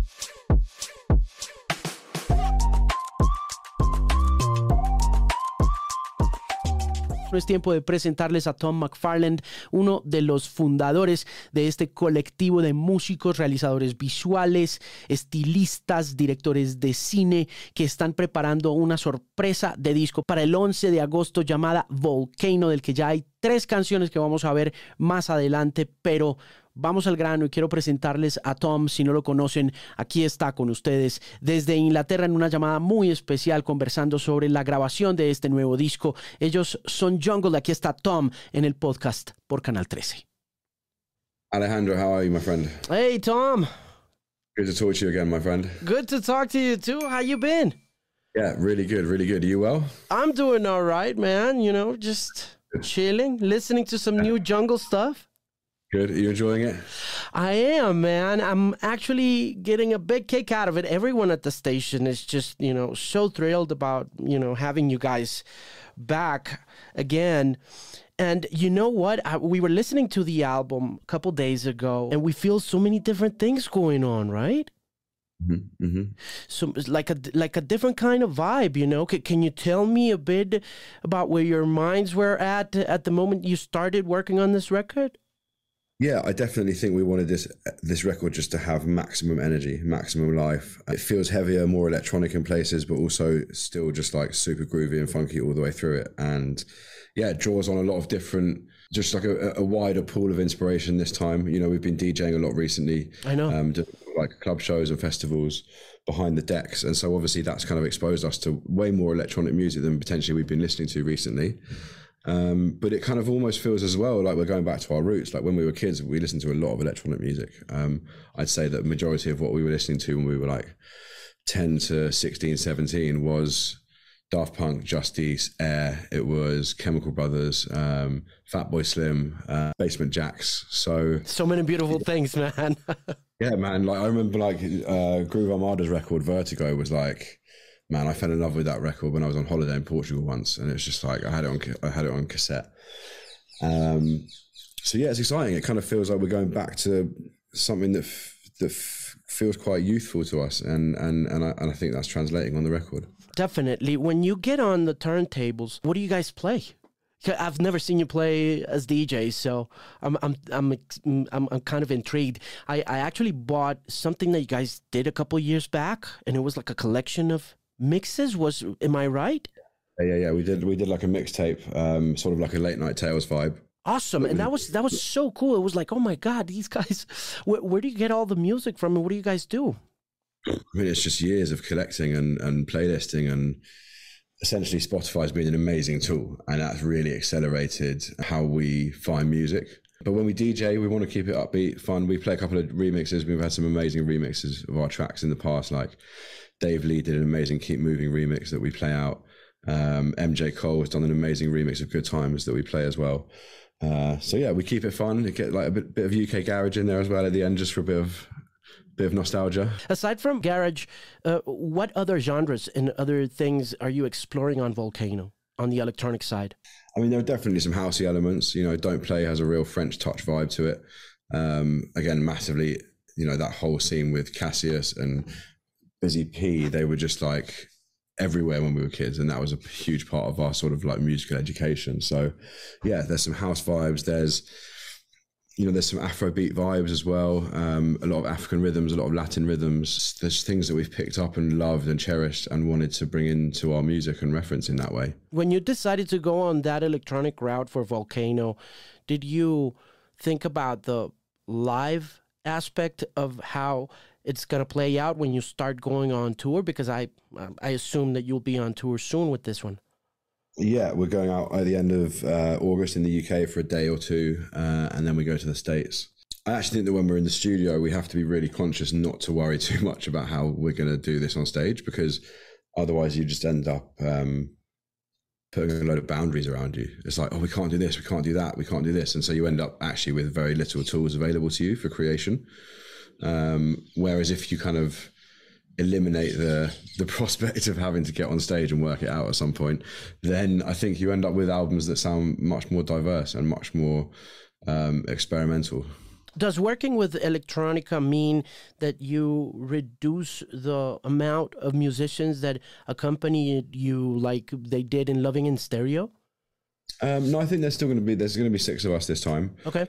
Es tiempo de presentarles a Tom McFarland, uno de los fundadores de este colectivo de músicos, realizadores visuales, estilistas, directores de cine que están preparando una sorpresa de disco para el 11 de agosto llamada Volcano, del que ya hay 3 canciones que vamos a ver más adelante, pero vamos al grano y quiero presentarles a Tom. Si no lo conocen, aquí está con ustedes desde Inglaterra en una llamada muy especial conversando sobre la grabación de este nuevo disco. Ellos son Jungle. Aquí está Tom en el podcast por Canal 13. Alejandro, how are you, my friend? Hey, Tom. Good to talk to you again, my friend. Good to talk to you too. How you been? Yeah, really good, really good. Are you well? I'm doing all right, man. You know, just chilling, listening to some new Jungle stuff. Good. Are you enjoying it? I am, man. I'm actually getting a big kick out of it. Everyone at the station is just, you know, so thrilled about, you know, having you guys back again. And you know what? We were listening to the album a couple days ago, and we feel so many different things going on, right? Mm-hmm. Mm-hmm. So it's like a different kind of vibe, you know? Can you tell me a bit about where your minds were at the moment you started working on this record? Yeah, I definitely think we wanted this record just to have maximum energy, maximum life. It feels heavier, more electronic in places, but also still just like super groovy and funky all the way through it. And yeah, it draws on a lot of different, just like a wider pool of inspiration this time. You know, we've been DJing a lot recently. I know. Doing like club shows and festivals behind the decks. And so obviously that's kind of exposed us to way more electronic music than potentially we've been listening to recently. But it kind of almost feels as well like we're going back to our roots. Like when we were kids, we listened to a lot of electronic music. I'd say that the majority of what we were listening to when we were like 10 to 16, 17 was Daft Punk, Justice, Air. It was Chemical Brothers, Fatboy Slim, Basement Jaxx. So many beautiful things, man. Yeah, man. Like I remember like Groove Armada's record Vertigo was like, man, I fell in love with that record when I was on holiday in Portugal once, and it's just like I had it on cassette. So yeah, it's exciting. It kind of feels like we're going back to something that feels quite youthful to us, and I think that's translating on the record. Definitely. When you get on the turntables, what do you guys play? I've never seen you play as DJs, so I'm kind of intrigued. I actually bought something that you guys did a couple years back, and it was like a collection of mixes. Am I right? Yeah. We did like a mixtape, sort of like a Late Night Tales vibe. Awesome. And that was so cool. It was like, oh my God, these guys, where do you get all the music from, and what do you guys do? I mean, it's just years of collecting and playlisting, and essentially Spotify's been an amazing tool, and that's really accelerated how we find music. But when we DJ, we want to keep it upbeat, fun. We play a couple of remixes. We've had some amazing remixes of our tracks in the past, like Dave Lee did an amazing Keep Moving remix that we play out. MJ Cole has done an amazing remix of Good Times that we play as well. So yeah, we keep it fun. We get like a bit of UK garage in there as well at the end, just for a bit of nostalgia. Aside from garage, what other genres and other things are you exploring on Volcano, on the electronic side? I mean, there are definitely some housey elements. You know, Don't Play has a real French touch vibe to it. Again, massively, you know, that whole scene with Cassius and Busy P, they were just like everywhere when we were kids, and that was a huge part of our sort of like musical education. So yeah, there's some house vibes. There's some Afrobeat vibes as well. A lot of African rhythms, a lot of Latin rhythms. There's things that we've picked up and loved and cherished and wanted to bring into our music and reference in that way. When you decided to go on that electronic route for Volcano, did you think about the live aspect of how it's going to play out when you start going on tour? Because I assume that you'll be on tour soon with this one. Yeah, we're going out at the end of August in the UK for a day or two, and then we go to the States. I actually think that when we're in the studio, we have to be really conscious not to worry too much about how we're going to do this on stage, because otherwise you just end up putting a load of boundaries around you. It's like, oh, we can't do this, we can't do that, we can't do this. And so you end up actually with very little tools available to you for creation. Whereas if you kind of eliminate the prospect of having to get on stage and work it out at some point, then I think you end up with albums that sound much more diverse and much more experimental. Does working with electronica mean that you reduce the amount of musicians that accompany you like they did in Loving in Stereo? No, I think there's going to be 6 of us this time. Okay.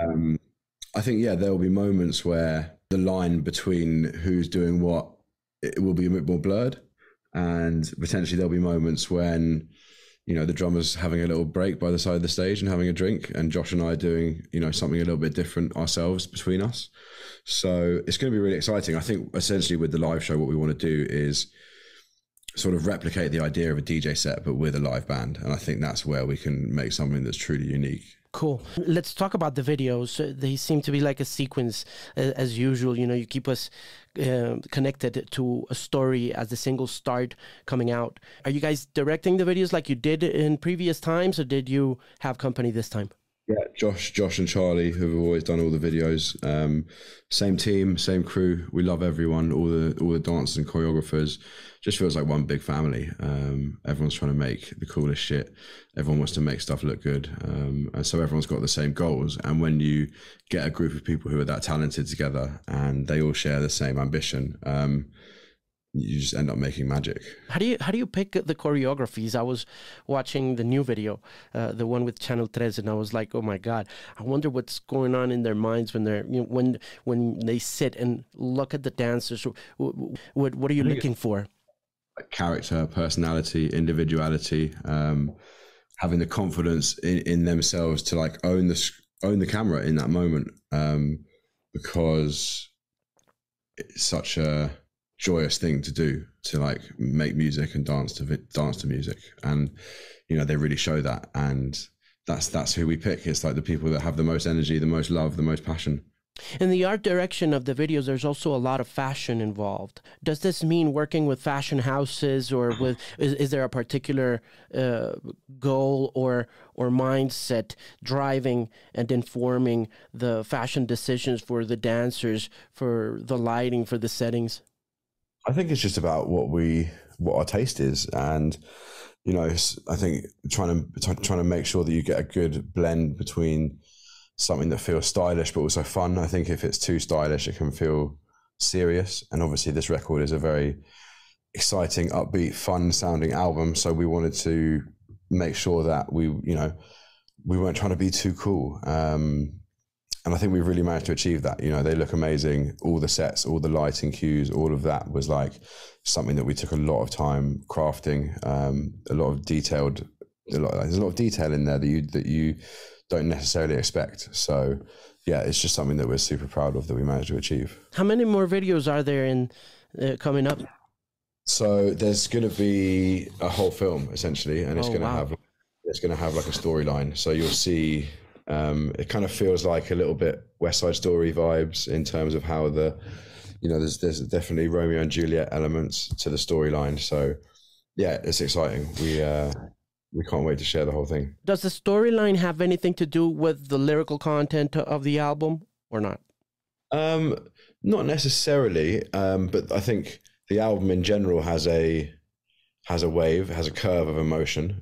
I think, yeah, there will be moments where the line between who's doing what, it will be a bit more blurred. And potentially there'll be moments when, you know, the drummer's having a little break by the side of the stage and having a drink, and Josh and I doing, you know, something a little bit different ourselves between us. So it's going to be really exciting. I think essentially with the live show, what we want to do is sort of replicate the idea of a DJ set, but with a live band. And I think that's where we can make something that's truly unique. Cool. Let's talk about the videos. They seem to be like a sequence as usual. You know, you keep us connected to a story as the singles start coming out. Are you guys directing the videos like you did in previous times, or did you have company this time? Yeah, Josh and Charlie, who have always done all the videos. Same team, same crew. We love everyone, all the dancers and choreographers. Just feels like one big family. Everyone's trying to make the coolest shit. Everyone wants to make stuff look good. And so everyone's got the same goals. And when you get a group of people who are that talented together and they all share the same ambition, you just end up making magic. How do you pick the choreographies? I was watching the new video, the one with Channel 3, and I was like, oh my God, I wonder what's going on in their minds when they're, you know, when they sit and look at the dancers. What are you looking for? Character, personality, individuality, having the confidence in themselves to like own the camera in that moment, because it's such a joyous thing to do, to like make music and dance to music. And you know, they really show that, and that's who we pick. It's like the people that have the most energy, the most love, the most passion. In the art direction of the videos, there's also a lot of fashion involved. Does this mean working with fashion houses, or is there a particular goal or mindset driving and informing the fashion decisions for the dancers, for the lighting, for the settings? I think it's just about what our taste is, and you know, I think trying to make sure that you get a good blend between something that feels stylish but also fun. I think if it's too stylish, it can feel serious. And obviously, this record is a very exciting, upbeat, fun-sounding album. So we wanted to make sure that we weren't trying to be too cool. And I think we've really managed to achieve that. You know, they look amazing. All the sets, all the lighting cues, all of that was like something that we took a lot of time crafting. There's a lot of detail in there that you don't necessarily expect. So yeah, it's just something that we're super proud of that we managed to achieve. How many more videos are there in coming up? So there's going to be a whole film essentially, and it's going to have like a storyline. So you'll see. It kind of feels like a little bit West Side Story vibes in terms of how there's definitely Romeo and Juliet elements to the storyline. So yeah, it's exciting. We can't wait to share the whole thing. Does the storyline have anything to do with the lyrical content of the album or not? Not necessarily, but I think the album in general has a curve of emotion,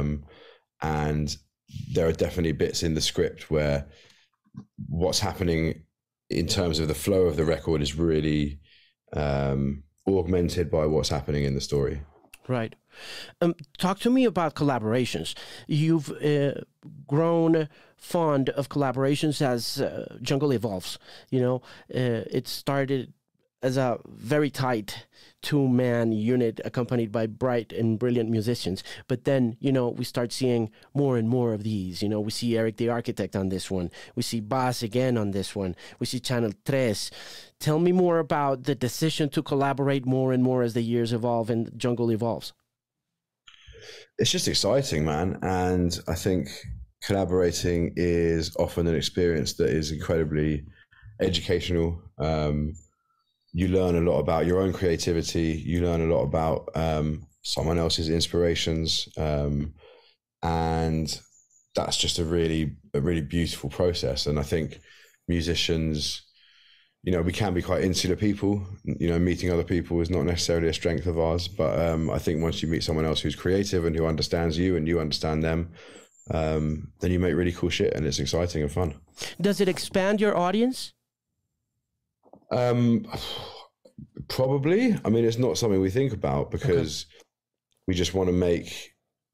and there are definitely bits in the script where what's happening in terms of the flow of the record is really augmented by what's happening in the story. Right. Talk to me about collaborations. You've grown fond of collaborations as Jungle evolves. You know, it started as a very tight two-man unit accompanied by bright and brilliant musicians. But then, you know, we start seeing more and more of these. You know, we see Eric the Architect on this one. We see Bas again on this one. We see Channel 3. Tell me more about the decision to collaborate more and more as the years evolve and Jungle evolves. It's just exciting, man. And I think collaborating is often an experience that is incredibly educational. You learn a lot about your own creativity. You learn a lot about someone else's inspirations. And that's just a really beautiful process. And I think musicians, you know, we can be quite insular people. You know, meeting other people is not necessarily a strength of ours. But I think once you meet someone else who's creative and who understands you and you understand them, then you make really cool shit, and it's exciting and fun. Does it expand your audience? Probably. I mean, it's not something we think about because we just want to make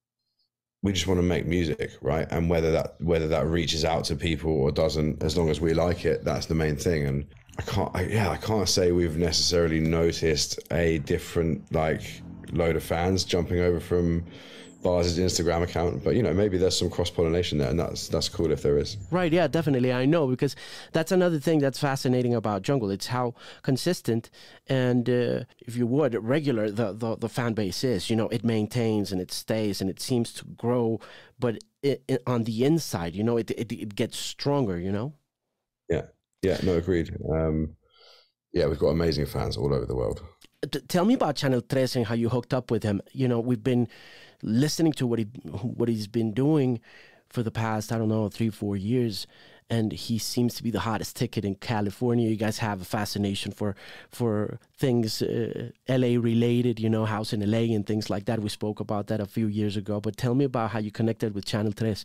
music, right? And whether that reaches out to people or doesn't, as long as we like it, that's the main thing. And I can't say we've necessarily noticed a different load of fans jumping over from Bars's Instagram account, but maybe there's some cross-pollination there, and that's cool if there is. Right, yeah, definitely. I know, because that's another thing that's fascinating about Jungle. It's how consistent and, if you would, regular the fan base is. It maintains and it stays and it seems to grow, but on the inside, it gets stronger. Yeah, no, agreed. We've got amazing fans all over the world. Tell me about Channel 3 and how you hooked up with him. We've been listening to what he's been doing for the past, 3-4 years, and he seems to be the hottest ticket in California. You guys have a fascination for things LA related, house in LA and things like that. We spoke about that a few years ago, but tell me about how you connected with Channel 3.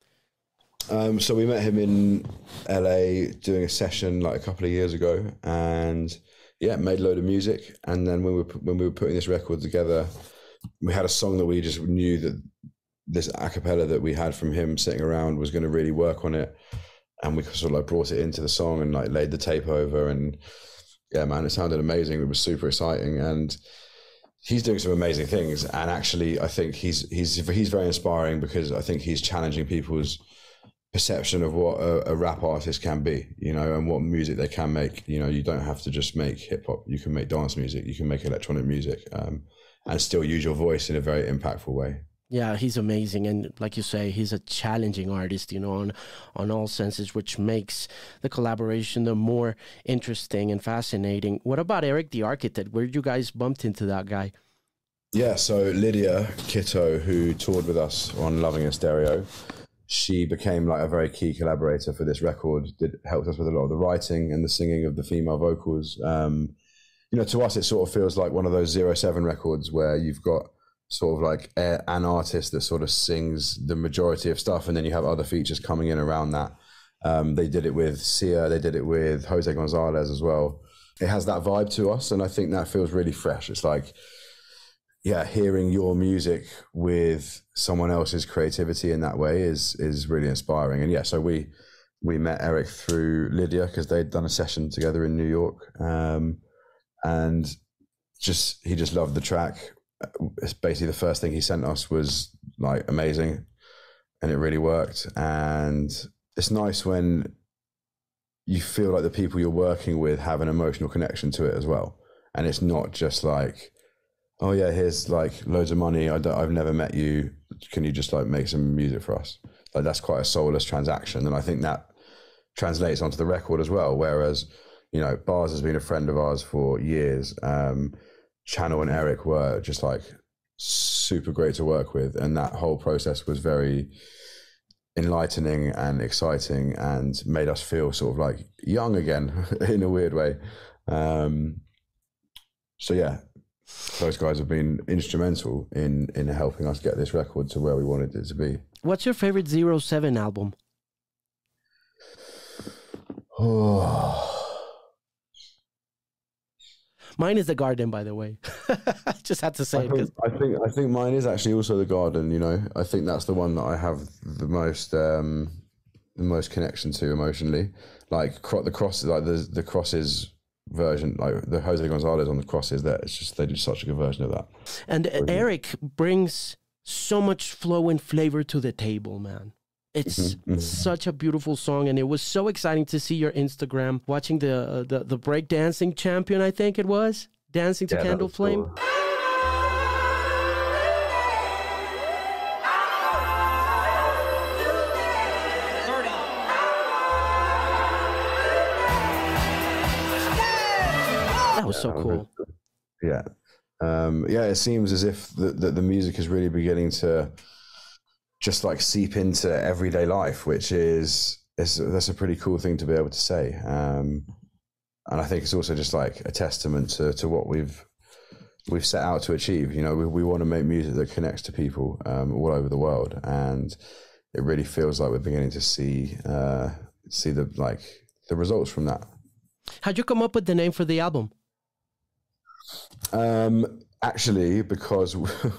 So we met him in LA doing a session a couple of years ago, and made a load of music. And then when we were putting this record together, we had a song that we just knew that this a cappella that we had from him sitting around was going to really work on it. And we sort of brought it into the song and laid the tape over, and yeah, man, it sounded amazing. It was super exciting, and he's doing some amazing things. And actually, I think he's very inspiring, because I think he's challenging people's perception of what a rap artist can be, and what music they can make. You don't have to just make hip hop. You can make dance music. You can make electronic music, and still use your voice in a very impactful way. Yeah, he's amazing. And like you say, he's a challenging artist, on all senses, which makes the collaboration the more interesting and fascinating. What about Eric the Architect? Where did you guys bumped into that guy? Yeah, so Lydia Kitto, who toured with us on Loving in Stereo, she became a very key collaborator for this record. Helped us with a lot of the writing and the singing of the female vocals. To us, it sort of feels like one of those 07 records where you've got sort of an artist that sort of sings the majority of stuff, and then you have other features coming in around that. They did it with Sia, they did it with Jose Gonzalez as well. It has that vibe to us, and I think that feels really fresh. It's hearing your music with someone else's creativity in that way is really inspiring. And so we met Eric through Lydia, because they'd done a session together in New York, and he just loved the track. It's basically the first thing he sent us was amazing, and it really worked. And it's nice when you feel like the people you're working with have an emotional connection to it as well, and it's not just oh yeah, here's loads of money, I've never met you, can you just make some music for us? That's quite a soulless transaction, and I think that translates onto the record as well. Whereas Bars has been a friend of ours for years. Channel and Eric were just super great to work with, and that whole process was very enlightening and exciting, and made us feel sort of young again in a weird way. Those guys have been instrumental in helping us get this record to where we wanted it to be. What's your favorite 07 album? Mine is The Garden, by the way. I just had to say it. I think mine is actually also The Garden. I think that's the one that I have the most connection to emotionally. The Crosses version, the Jose Gonzalez on the Crosses, they did such a good version of that. And Eric brings so much flow and flavor to the table, man. It's such a beautiful song, and it was so exciting to see your Instagram watching the breakdancing champion, I think it was, dancing to Candle Flame. Cool. That was so cool. Yeah. It seems as if the music is really beginning to just seep into everyday life, which that's a pretty cool thing to be able to say. And I think it's also just a testament to what we've set out to achieve. We want to make music that connects to people all over the world. And it really feels like we're beginning to see the results from that. How'd you come up with the name for the album? Actually, because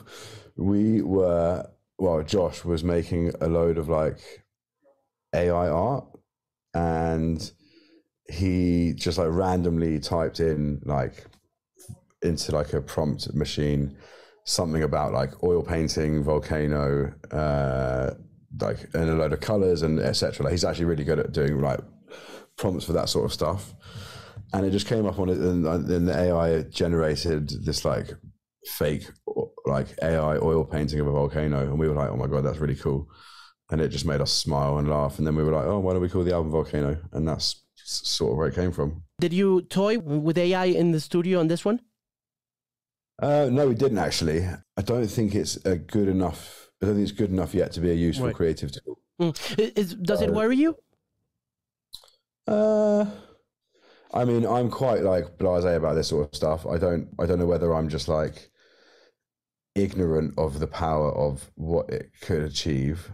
Josh was making a load of like AI art, and he just like randomly typed in like into like a prompt machine something about like oil painting, volcano, like and a load of colors and etc. Like, he's actually really good at doing like prompts for that sort of stuff, and it just came up on it, and then the AI generated this like fake like AI oil painting of a volcano, and we were like, oh my god, that's really cool, and it just made us smile and laugh, and then we were like, oh, why don't we call the album Volcano? And that's sort of where it came from. Did you toy with AI in the studio on this one? No, we didn't actually. I don't think it's good enough. I don't think it's good enough yet to be a useful creative tool. Does it worry you? I mean, I'm quite like blasé about this sort of stuff. I don't know whether I'm just like ignorant of the power of what it could achieve,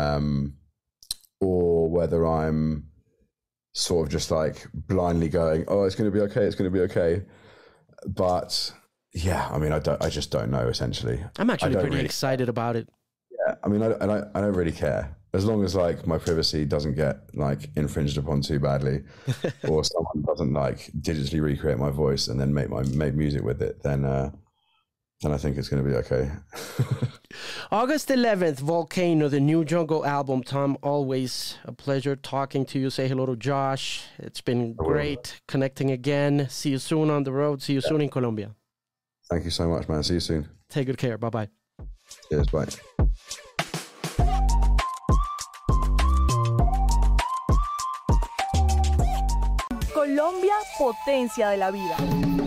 or whether I'm sort of just like blindly going, oh, it's going to be okay, it's going to be okay. But yeah, I mean, I just don't know, essentially. I'm actually pretty excited about it. Yeah, I mean, I don't really care. As long as like my privacy doesn't get like infringed upon too badly, or someone doesn't like digitally recreate my voice and then make music with it, then I think it's going to be okay. August 11th, Volcano, the new Jungle album. Tom, always a pleasure talking to you. Say hello to Josh. It's been great connecting again. See you soon on the road. See you soon in Colombia. Thank you so much, man. See you soon. Take good care. Bye-bye. Cheers. Bye. Colombia, potencia de la vida.